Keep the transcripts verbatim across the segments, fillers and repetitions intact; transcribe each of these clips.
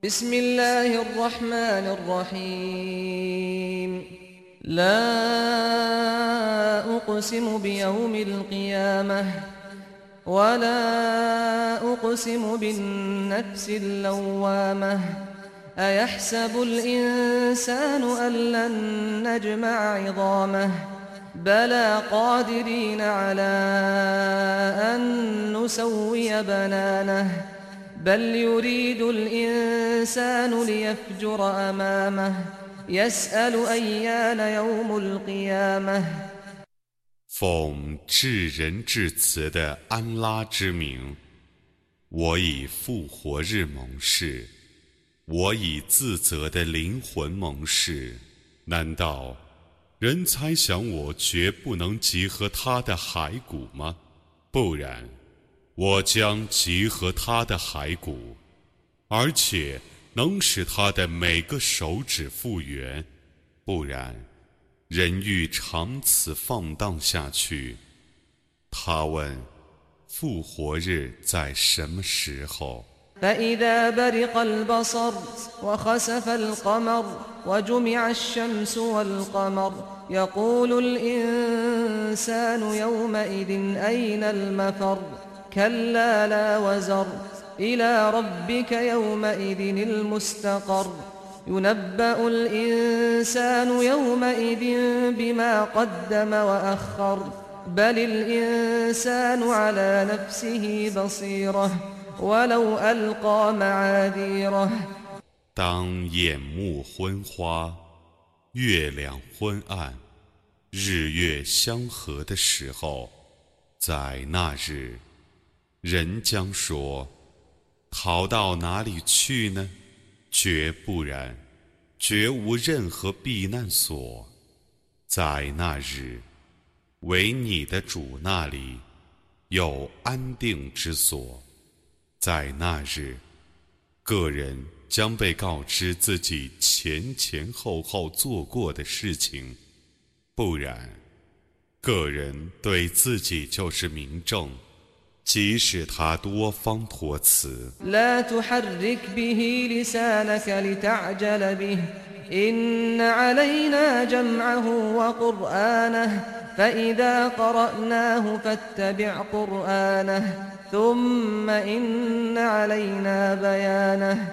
بسم الله الرحمن الرحيم لا أقسم بيوم القيامة ولا أقسم بالنفس اللوامة أيحسب الإنسان أن لن نجمع عظامه بلى قادرين على أن نسوي بنانه بل يريد الإنسان ليفجر أمامه يسأل أيان يوم القيامة 奉至仁至慈的安拉之名，我以复活日盟誓，我以自责的灵魂盟誓。难道人猜想我绝不能集合他的骸骨吗？不然，我将集合他的骸骨，而且能使他的每个手指复原。不然，人欲长此放荡下去。他问：复活日在什么时候？ فإذا برق البصر وخسف القمر وجمع الشمس والقمر يقول الإنسان يومئذ أين المفر كلا لا وزر إلى ربك يومئذ المستقر ينبأ الإنسان يومئذ بما قدم وأخر بل الإنسان على نفسه بصيرة ولو ألقى معاذيره 当眼目昏花，月亮昏暗，日月相合的时候，在那日，人将说：逃到哪里去呢？绝不然，绝无任何避难所。在那日，唯你的主那里有安定之所。在那日，个人将被告知自己前前后后做过的事情，不然，个人对自己就是明证，即使他多方托辞。 لا تحرك به لسانك لتعجل به إن علينا جمعه وقرآنه فإذا قرأناه فاتبع قرآنه ثم إن علينا بيانه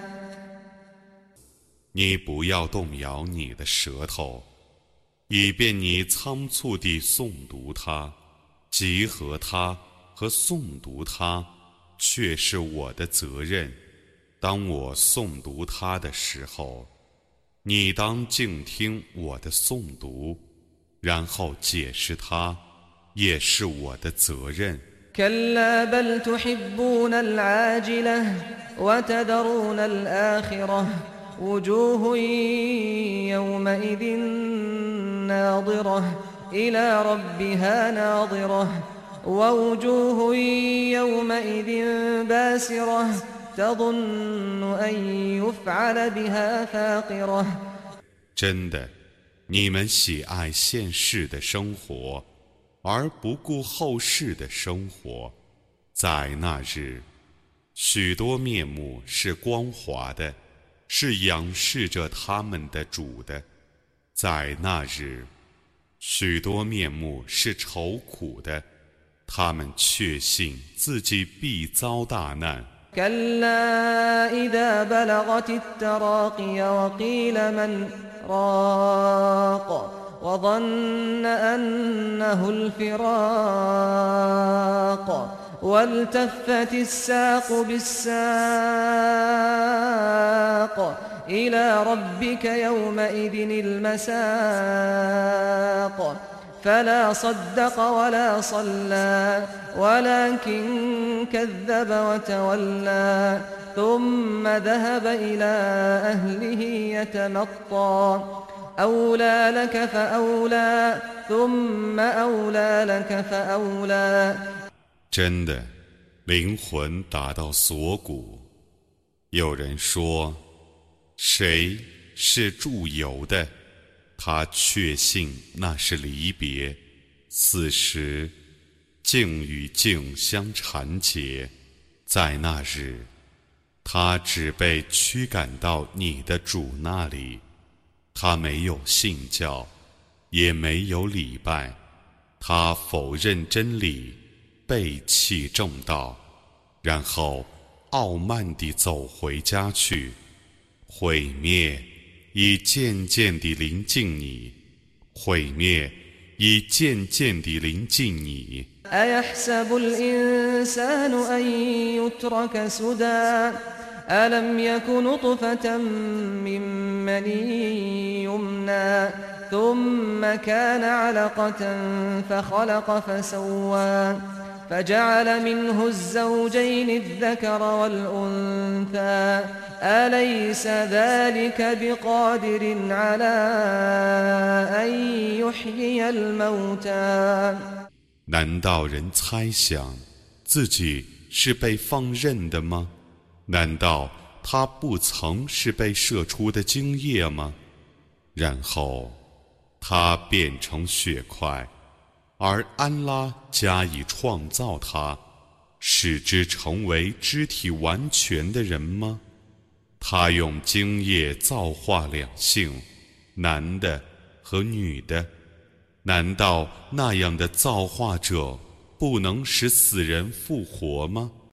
你不要动摇你的舌头，以便你仓促地诵读它，集合它和诵读它，却是我的责任。当我诵读它的时候，你当静听我的诵读，然后解释它，也是我的责任。 كلا بل تحبون العاجلة وتذرون الآخرة وجوه يومئذ ناظرة إلى ربها ناظرة ووجوه يومئذ باسرة تظن أن يفعل بها فاقرة 真的，你们喜爱现世的生活，而不顾后世的生活。在那日，许多面目是光滑的，是仰视着他们的主的。在那日，许多面目是愁苦的，他们确信自己必遭大难。 كلا إذا بلغت التراقي وقيل من راق وظن أنه الفراق والتفت الساق بالساق إلى ربك يومئذ المساق فلا صدق ولا صلى ولكن كذب وتولى ثم ذهب إلى أهله يتمطى أولى لك فأولى ثم أولى لك فأولى 真的，灵魂达到锁骨。有人说，谁是祝由的？他确信那是离别，此时境与境相缠结。在那日， 他只被驱赶到你的主那里，他没有信教，也没有礼拜，他否认真理，背弃正道，然后傲慢地走回家去。毁灭已渐渐地临近你，毁灭已渐渐地临近你。 أيحسب الإنسان أن يترك سدى ألم يك نطفة من مني يمنى ثم كان علقة فخلق فسوى فجعل منه الزوجين الذكر والأنثى أليس ذلك بقادر على أن يحيي الموتى 难道人猜想自己是被放任的吗？难道他不曾是被射出的精液吗？然后他变成血块，而安拉加以创造他，使之成为肢体完全的人吗？他用精液造化两性，男的和女的。难道那样的造化者不能使死人复活吗？